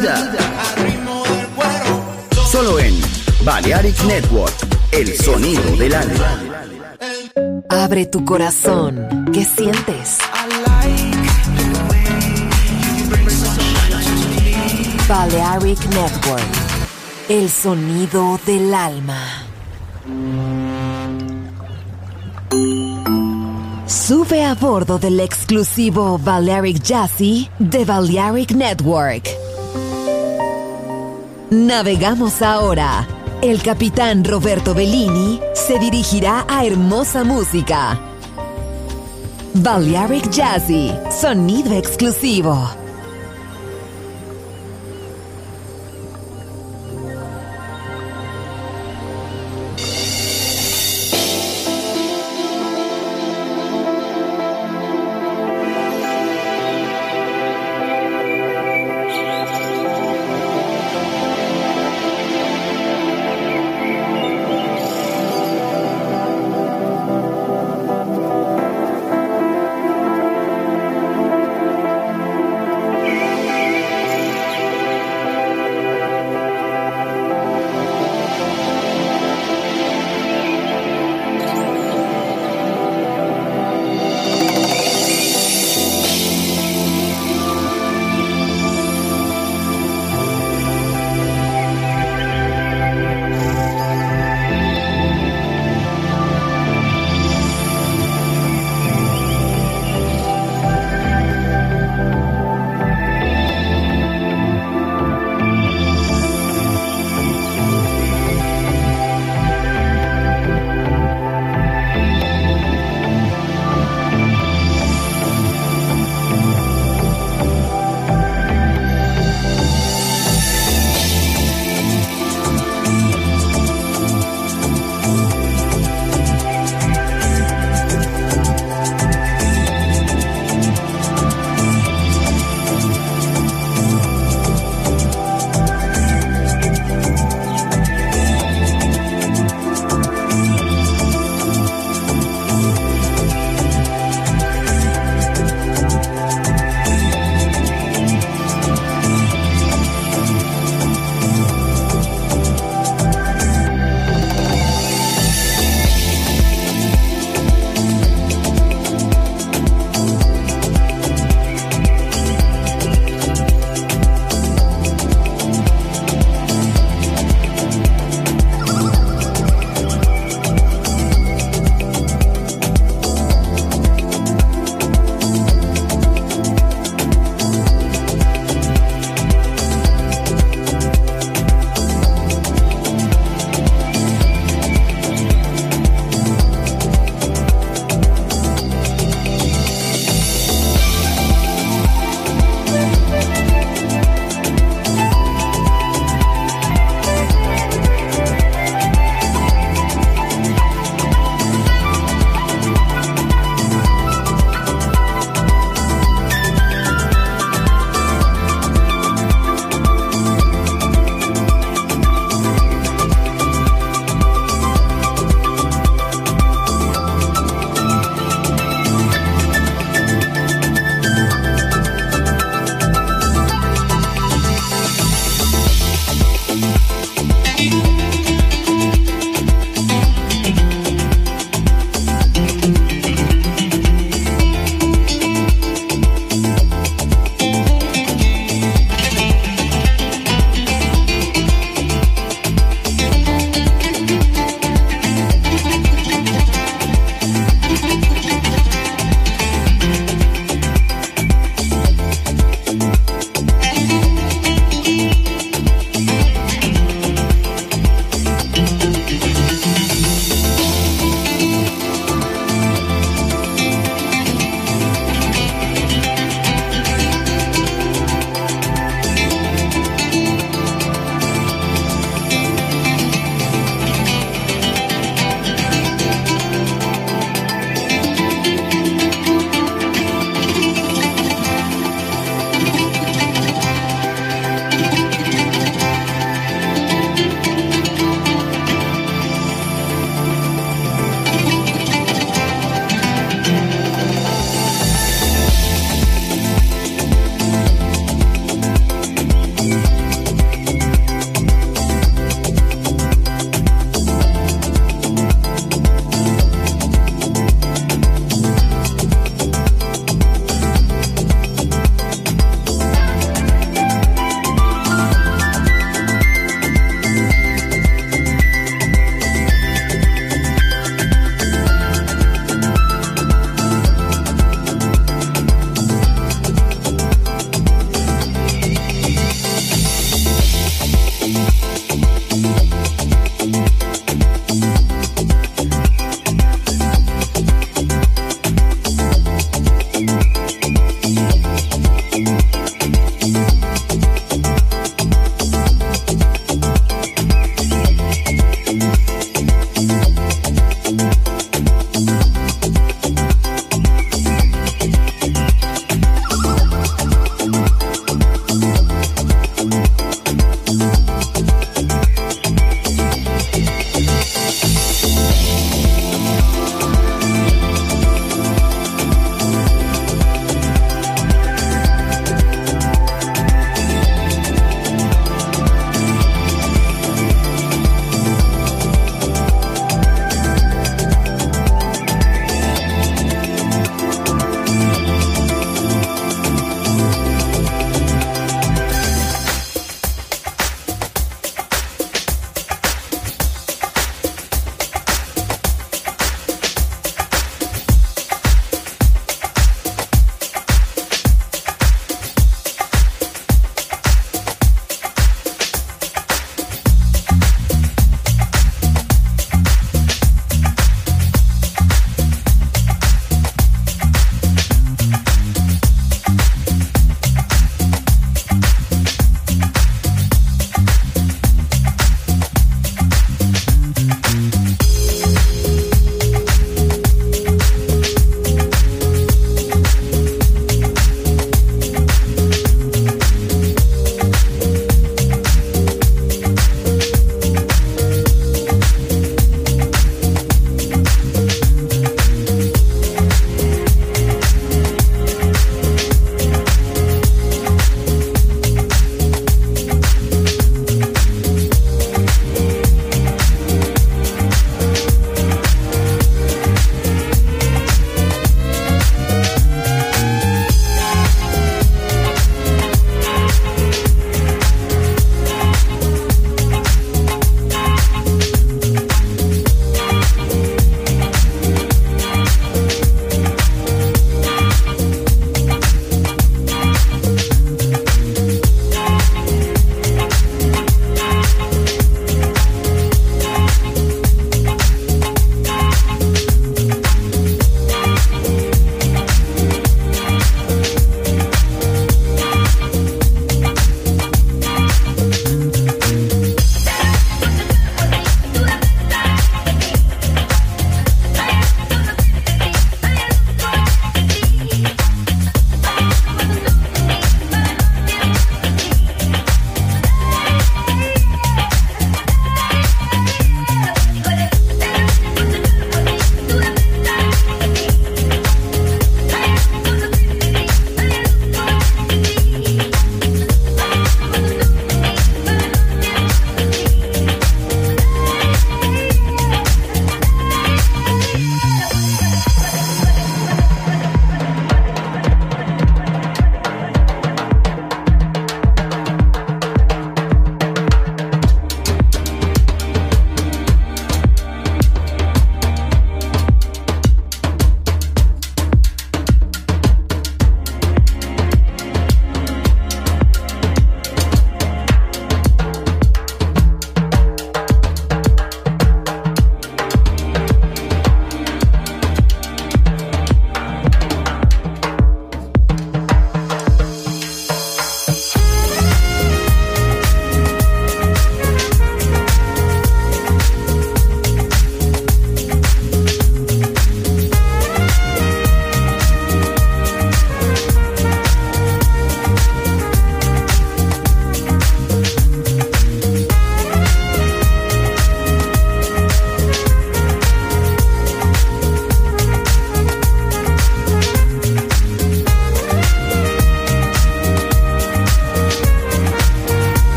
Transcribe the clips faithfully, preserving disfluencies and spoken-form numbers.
vida. Solo en Balearic Network, el sonido del alma. Abre tu corazón. ¿Qué sientes? Balearic Network, el sonido del alma. Sube a bordo del exclusivo Balearic Jazzy de Balearic Network. Navegamos ahora. El capitán Roberto Bellini se dirigirá a hermosa música. Balearic Jazzy, sonido exclusivo.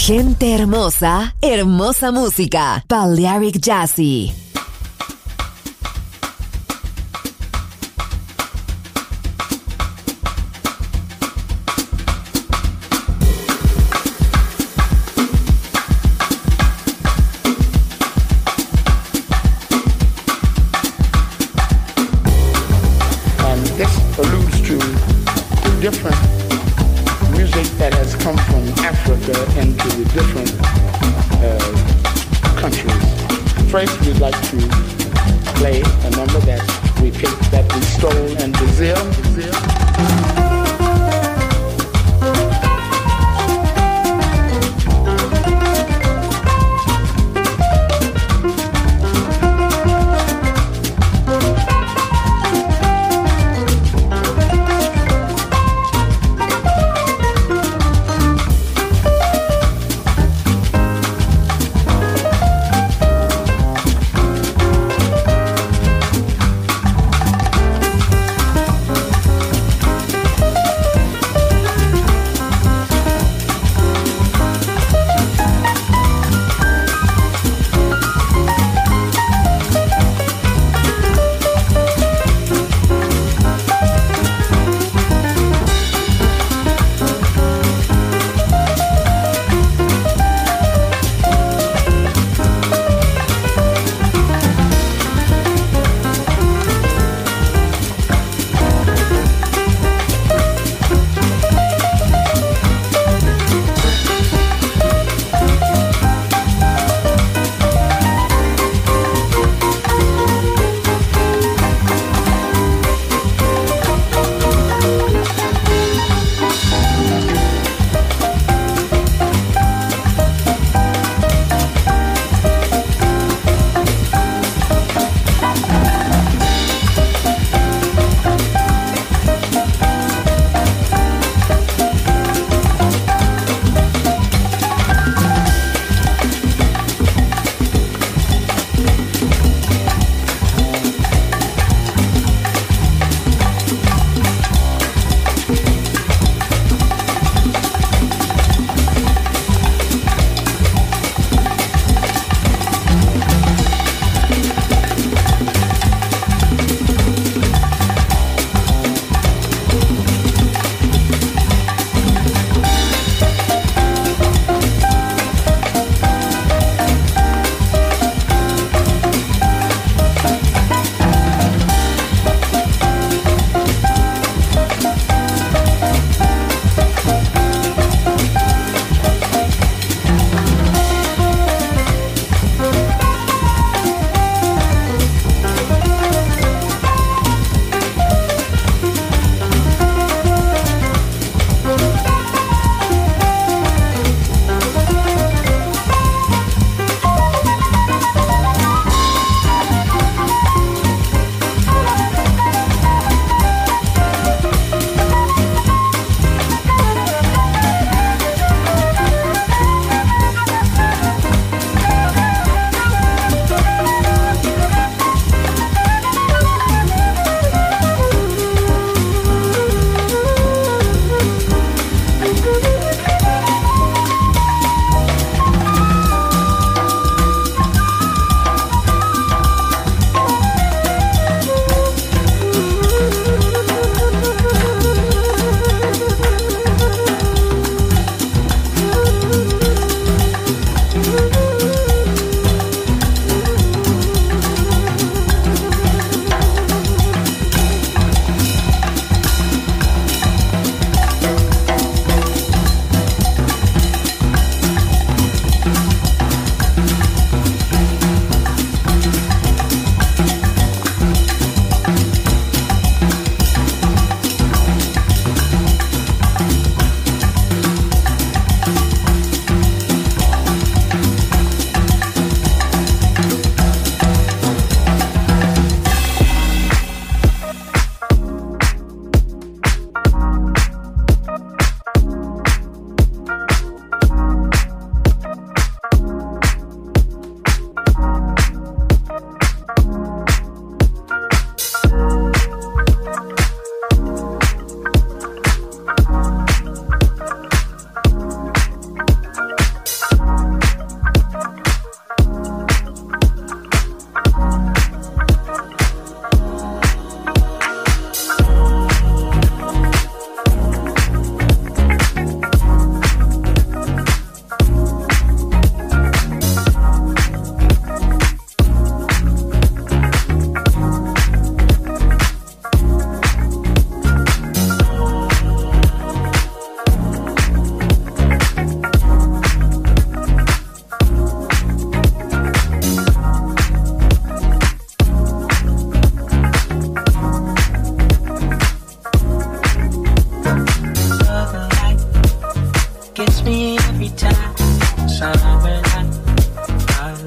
Gente hermosa, hermosa música. Balearic Jazzy. Different music that has come from Africa into the different uh, countries. First, we'd like to play a number that we picked that we stole in Brazil. Brazil.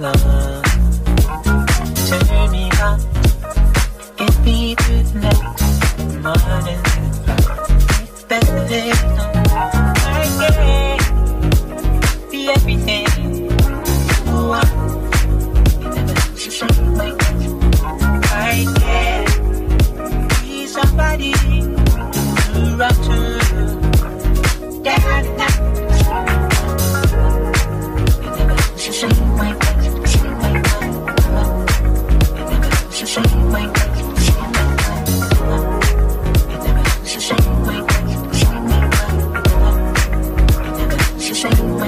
love. Turn me on, get me through the night. Morning, it's better than I can be everything you want. You never should my I can be somebody to run to. Yeah, yeah. You never should shake my shake my You never should shake my shake my You never should shake my shake my You never should shake my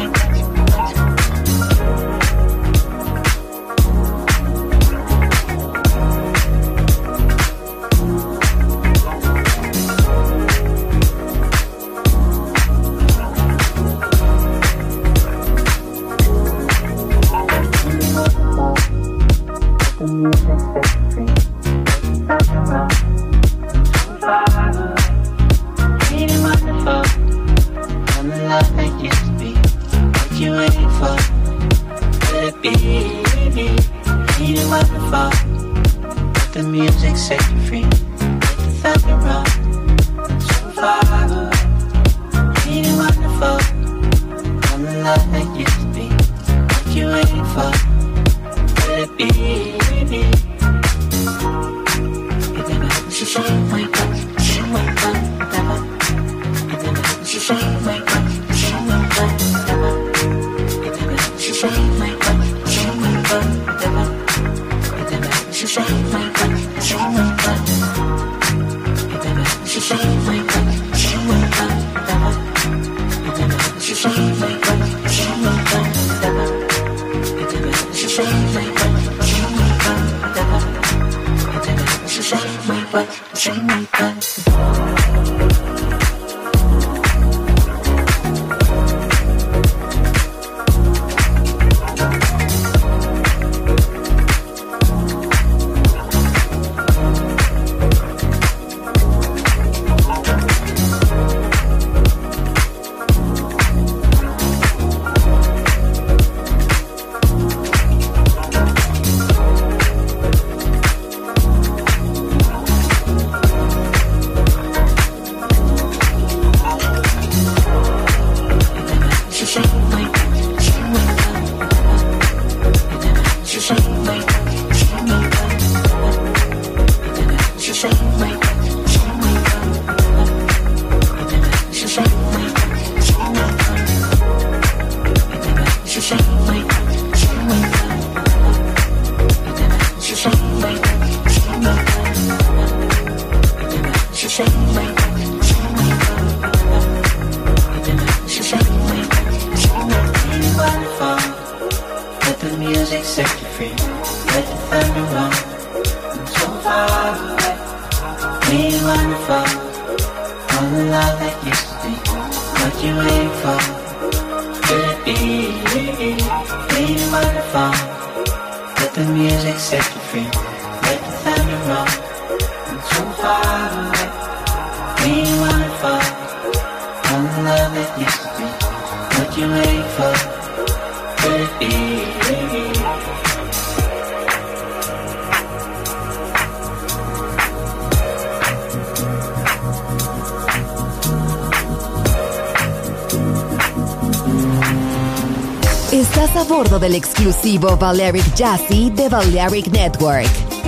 Estás a bordo del exclusivo Balearic Jazzy de Balearic Network.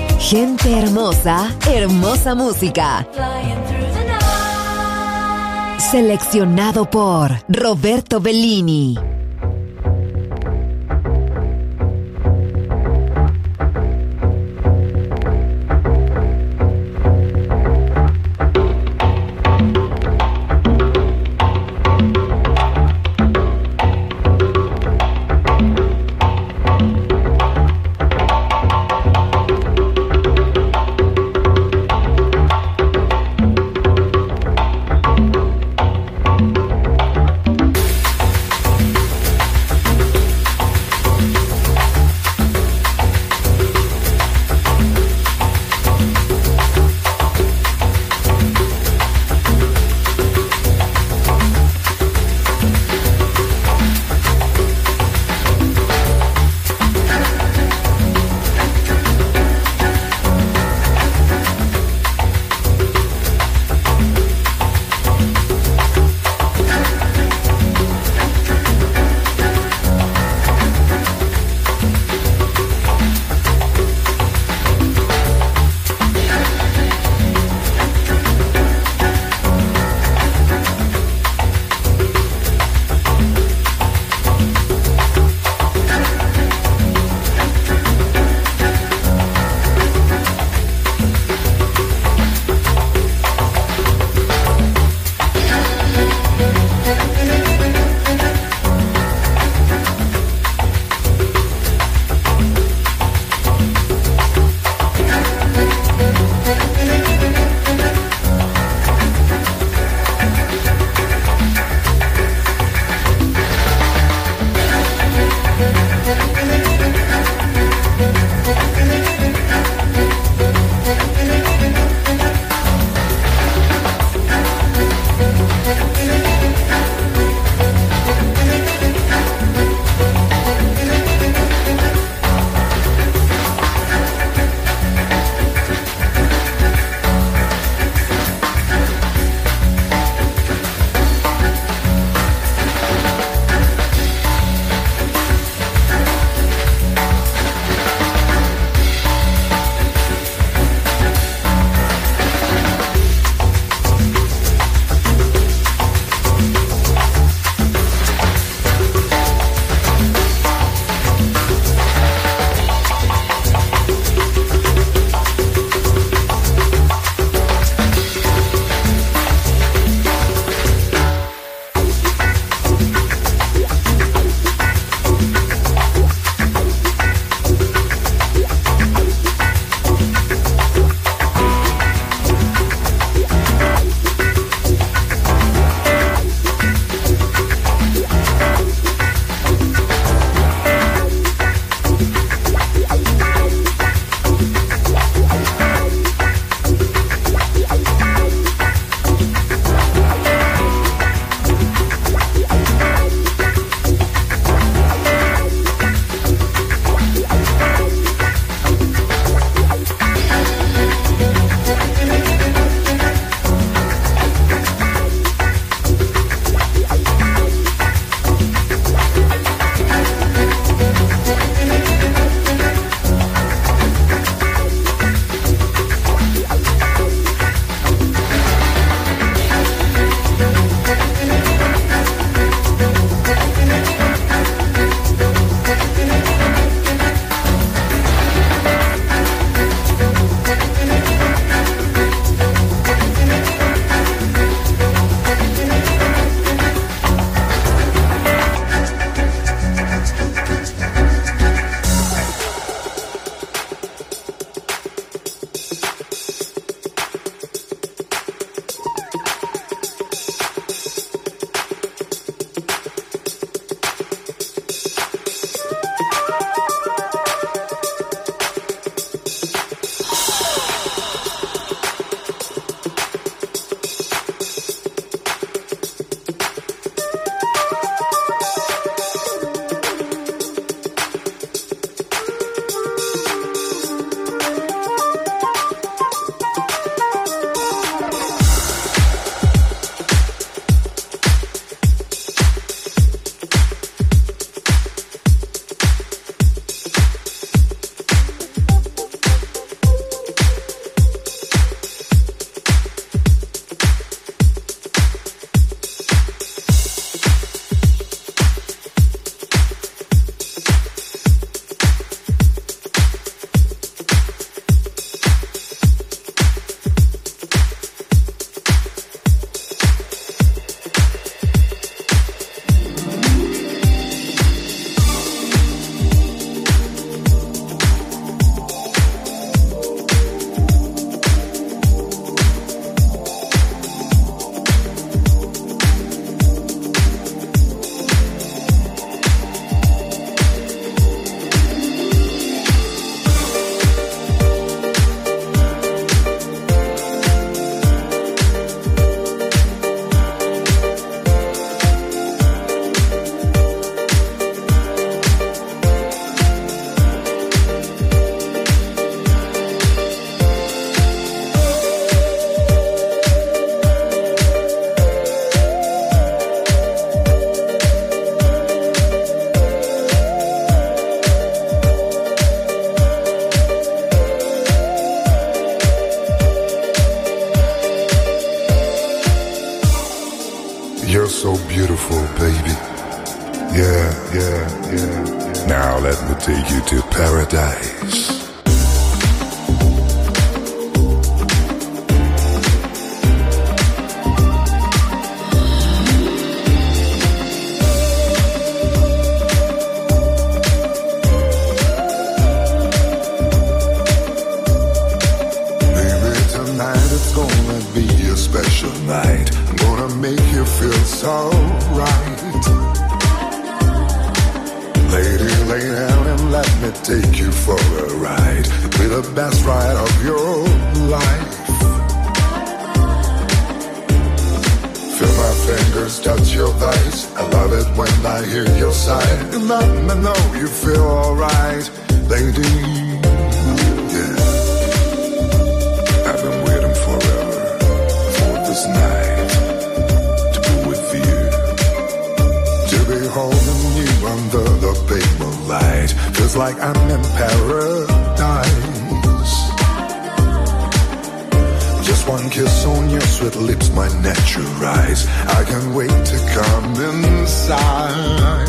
Gente hermosa, hermosa música. Seleccionado por Roberto Bellini. beautiful, baby. Yeah, yeah, yeah. Now let me take you to paradise. Night. I'm gonna make you feel so right. Lady, lay down and let me take you for a ride. Be the best ride of your life. Feel my fingers touch your thighs. I love it when I hear your sigh. And let me know you feel alright, lady. Yeah, I've been waiting forever this night to be with you, to be holding you under the pale moonlight. Feels like I'm in paradise. Just one kiss on your sweet lips, my natural eyes. I can't wait to come inside.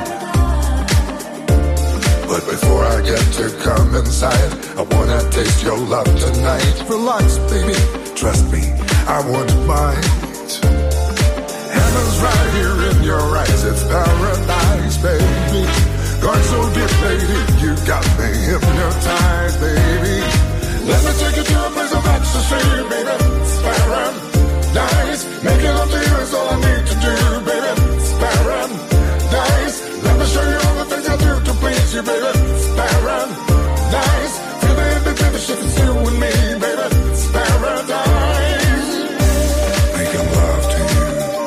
But before I get to come inside, I wanna taste your love tonight. Relax, baby, trust me, I won't bite. Heaven's right here in your eyes. It's paradise, baby. Going so deep, lady. You got me hypnotized, baby. Let me take you to a place of ecstasy, baby. It's paradise. Making love to you is all I need to do, baby. It's paradise. Let me show you all the things I do to please you, baby. It's paradise. Feel the in-between the shit, it's you and me, baby. It's paradise. Making love to you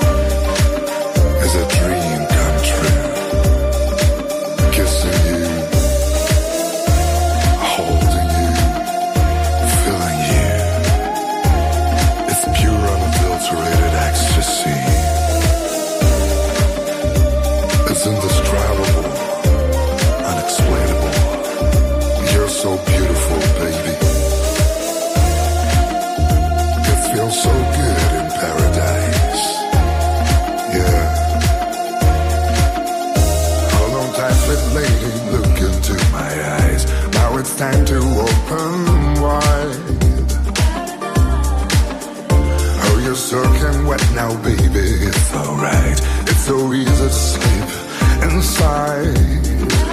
is a dream come true. Kissing you, holding you, feeling you. It's pure, unadulterated ecstasy. It's indescribable, unexplainable. You're so beautiful, baby. It feels so good in paradise. Yeah. Hold on tight, sweet lady, look into my eyes. Now it's time to open wide. Oh, you're soaking wet now, baby. It's alright. It's so easy to sleep inside.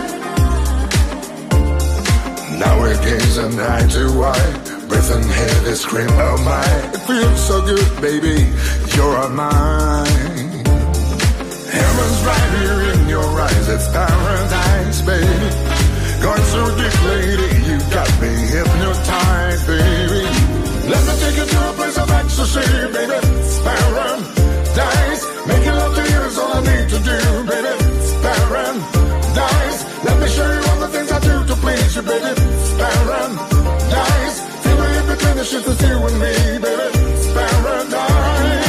Now we're gazing eye to eye, breathing heavy, scream, oh my. It feels so good, baby, you're mine. Heaven's right here in your eyes, it's paradise, baby. Going so deep, lady, you got me hypnotized, baby. Let me take you to a place of ecstasy, baby. It's paradise. Making love to you is all I need to do, baby. It's paradise. Let me show you all the things I do to please you, baby. It's paradise. Feel it in between the shit that's you and me, baby. It's paradise.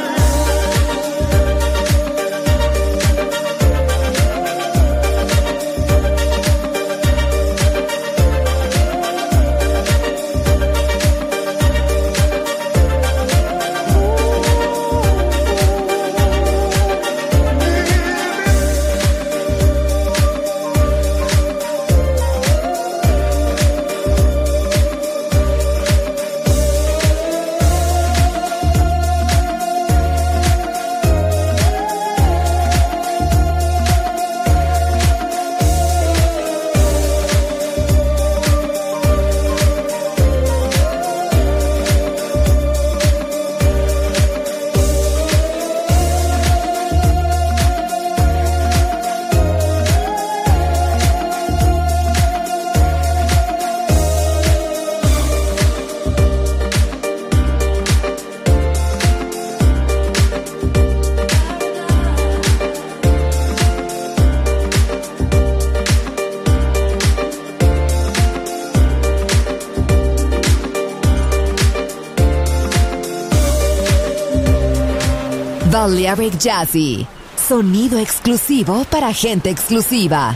Balearic Jazzy, sonido exclusivo para gente exclusiva.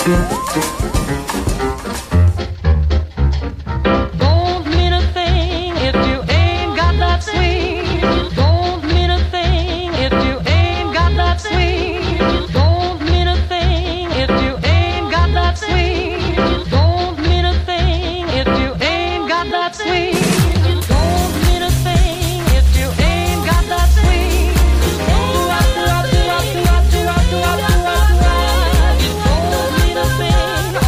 Don't mean a thing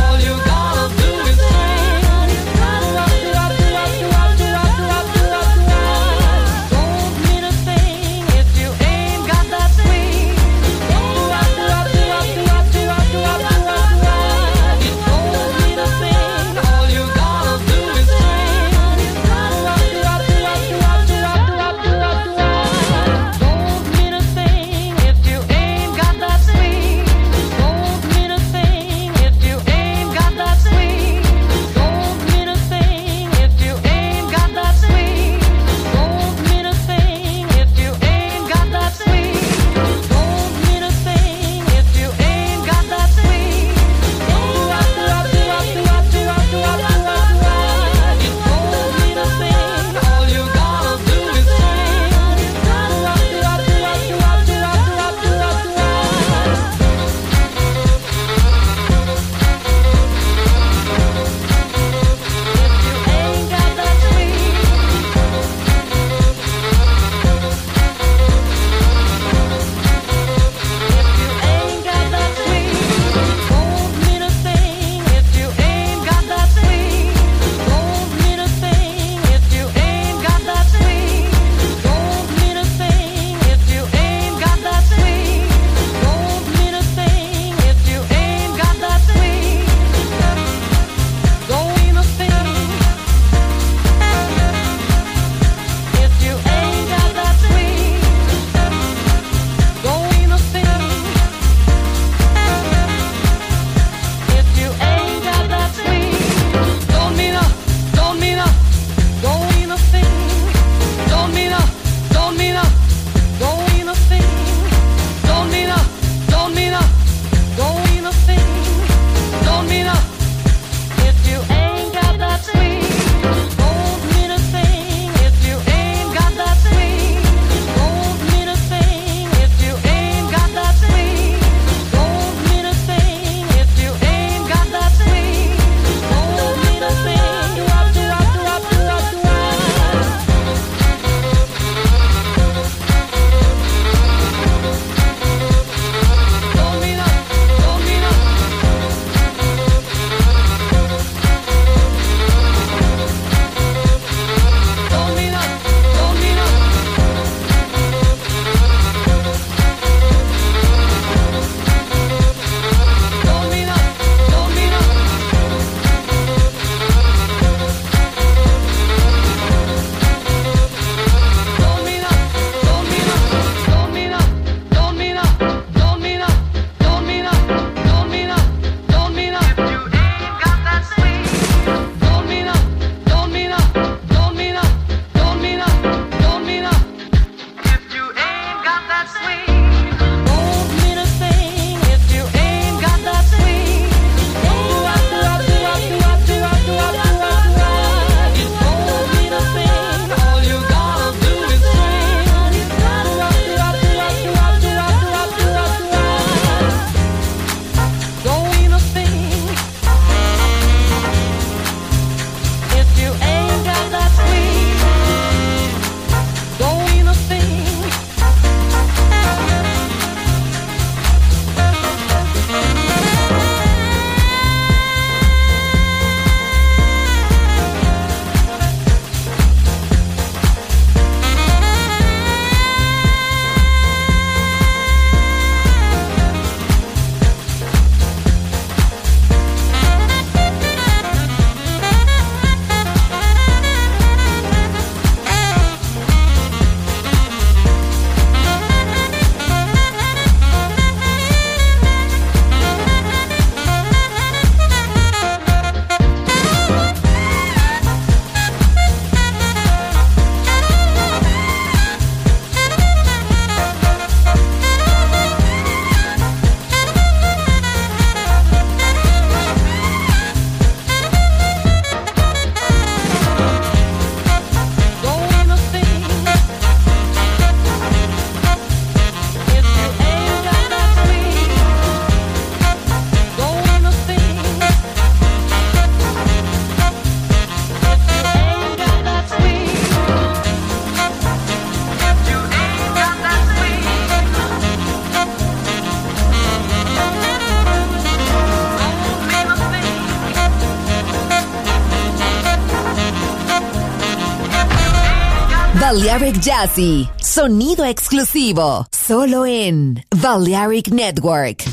Balearic Jazzy, sonido exclusivo, solo en Balearic Network.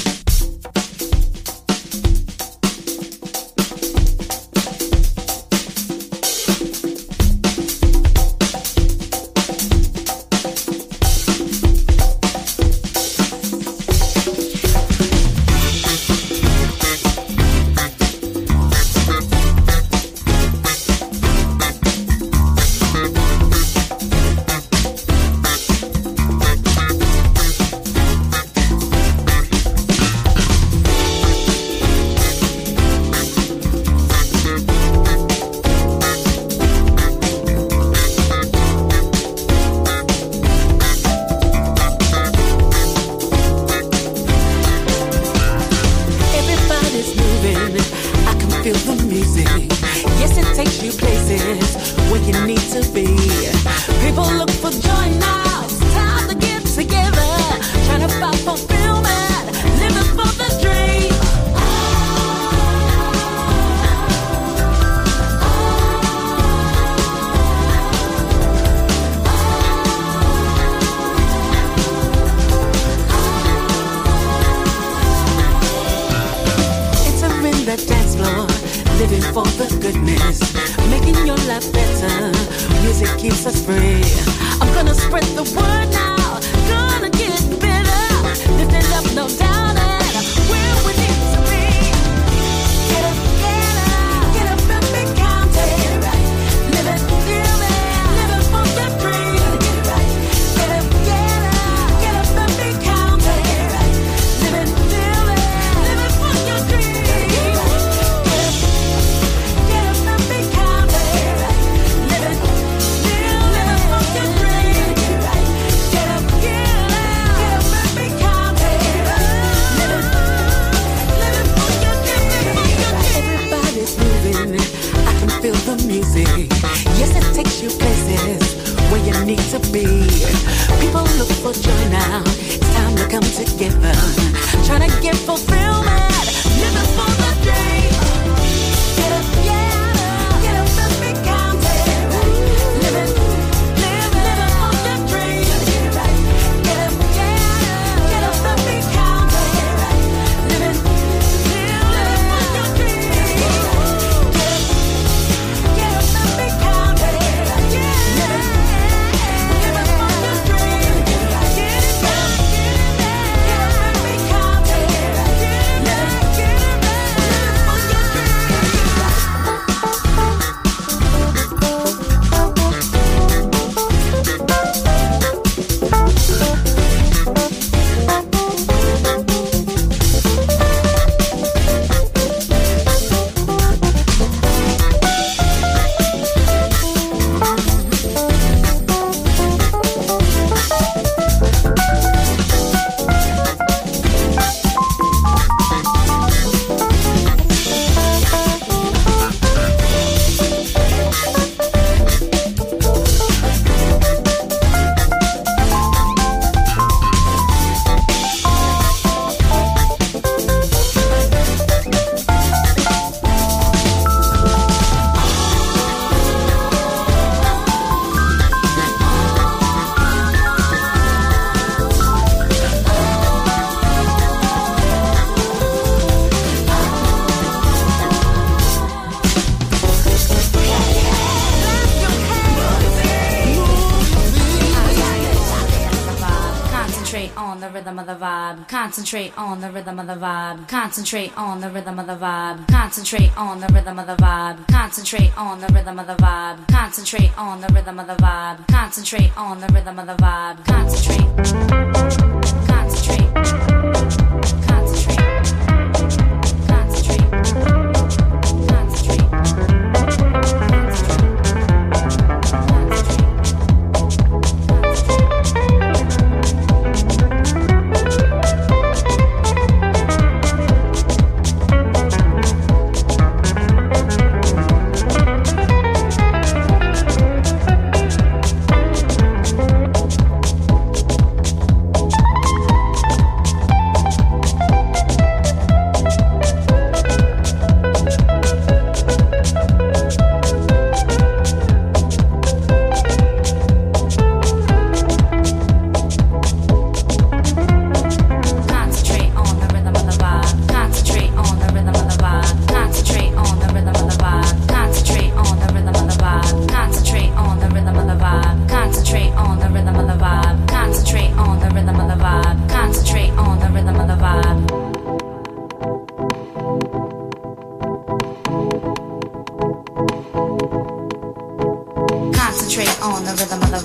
Concentrate on the rhythm of the vibe. Concentrate on the rhythm of the vibe. Concentrate on the rhythm of the vibe. Concentrate on the rhythm of the vibe. Concentrate on the rhythm of the vibe. Concentrate on the rhythm of the vibe. Concentrate. Concentrate. Concentrate. Concentrate.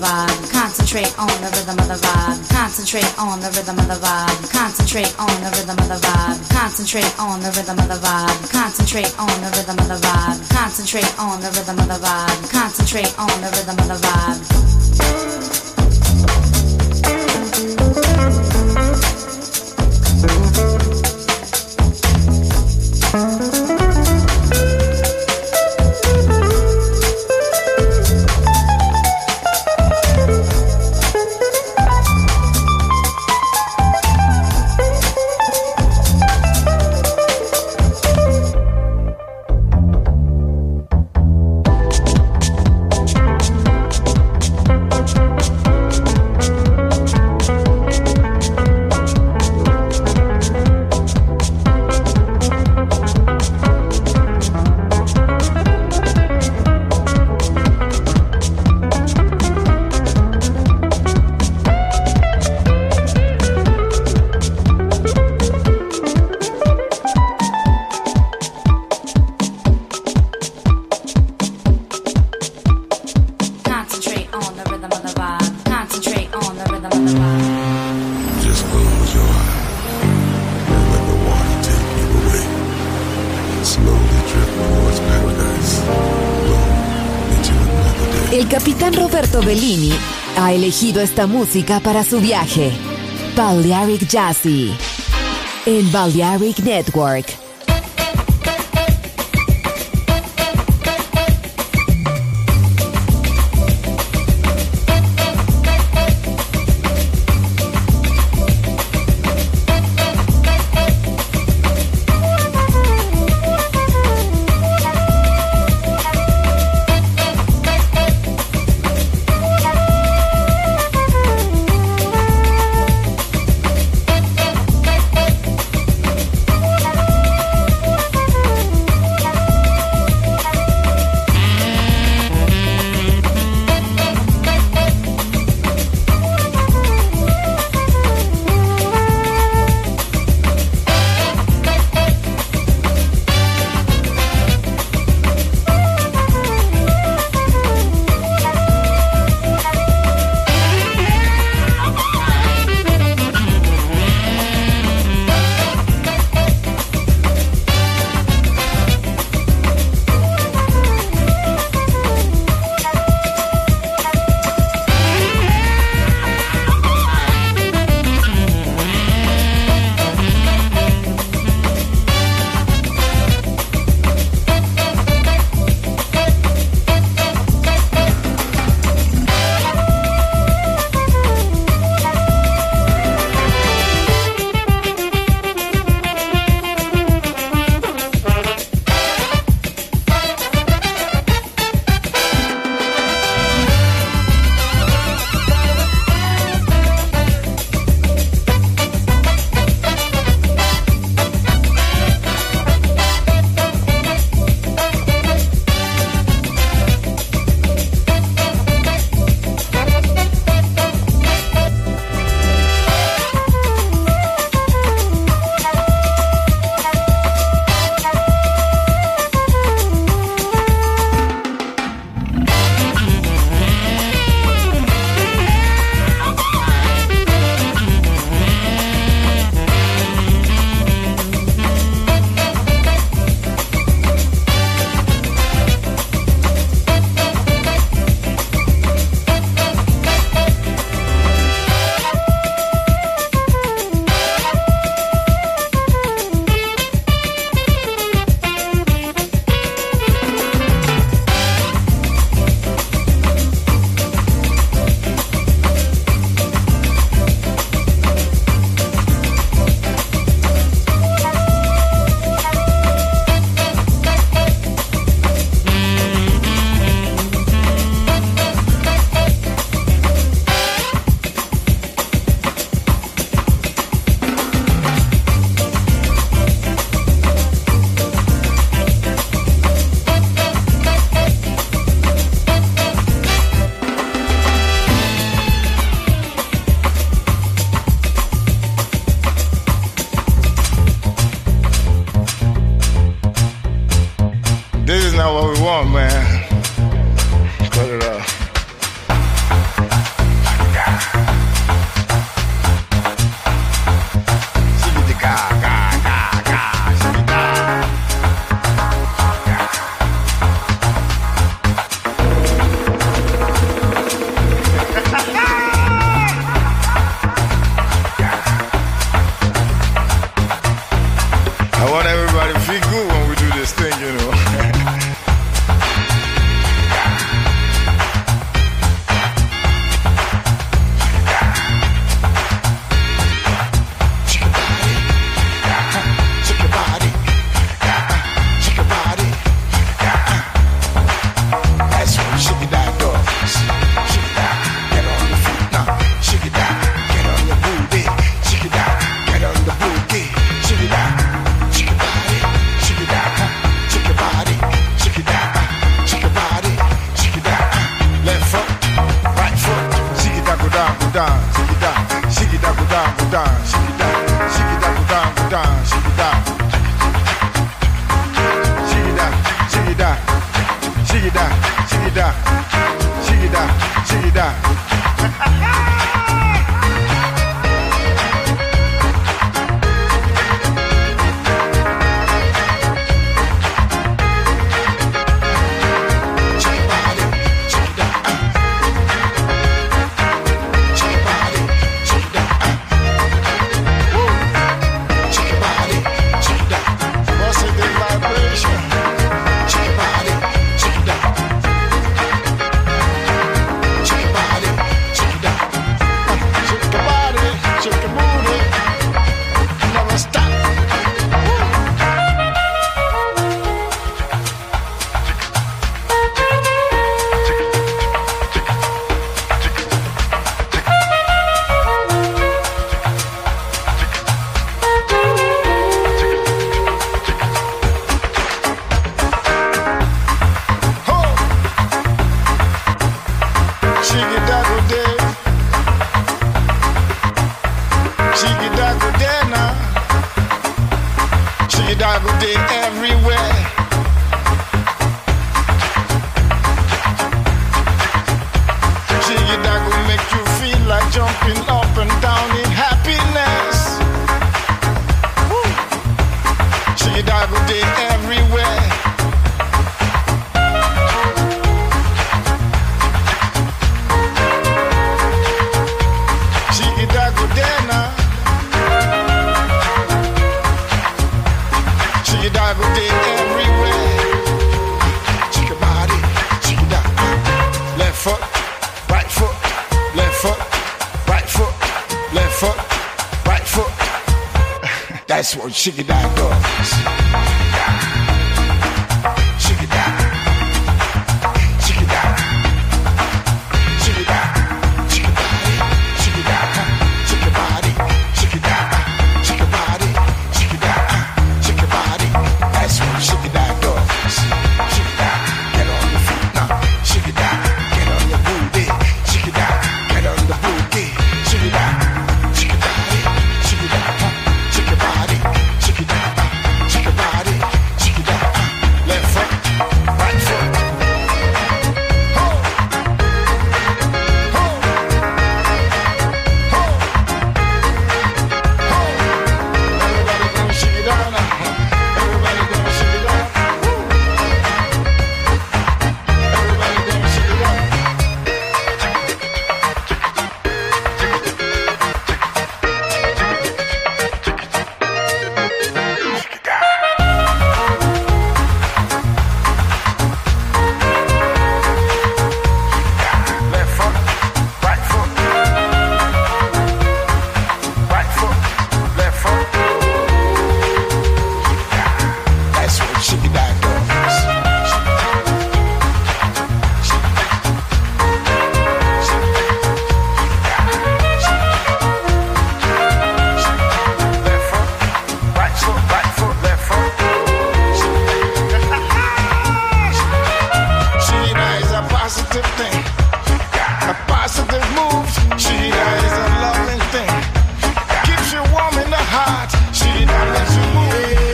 vibe. Concentrate on the rhythm of the vibe. Concentrate on the rhythm of the vibe. Concentrate on the rhythm of the vibe. Concentrate on the rhythm of the vibe. Concentrate on the rhythm of the vibe. Concentrate on the rhythm of the vibe. Concentrate on the rhythm of the vibe. El capitán Roberto Bellini ha elegido esta música para su viaje. Balearic Jazzy en Balearic Network. da, shiggy da, shiggy da, shiggy da, shiggy da, shiggy da, shiggy da, shiggy da. That's what Shiggy Dog does.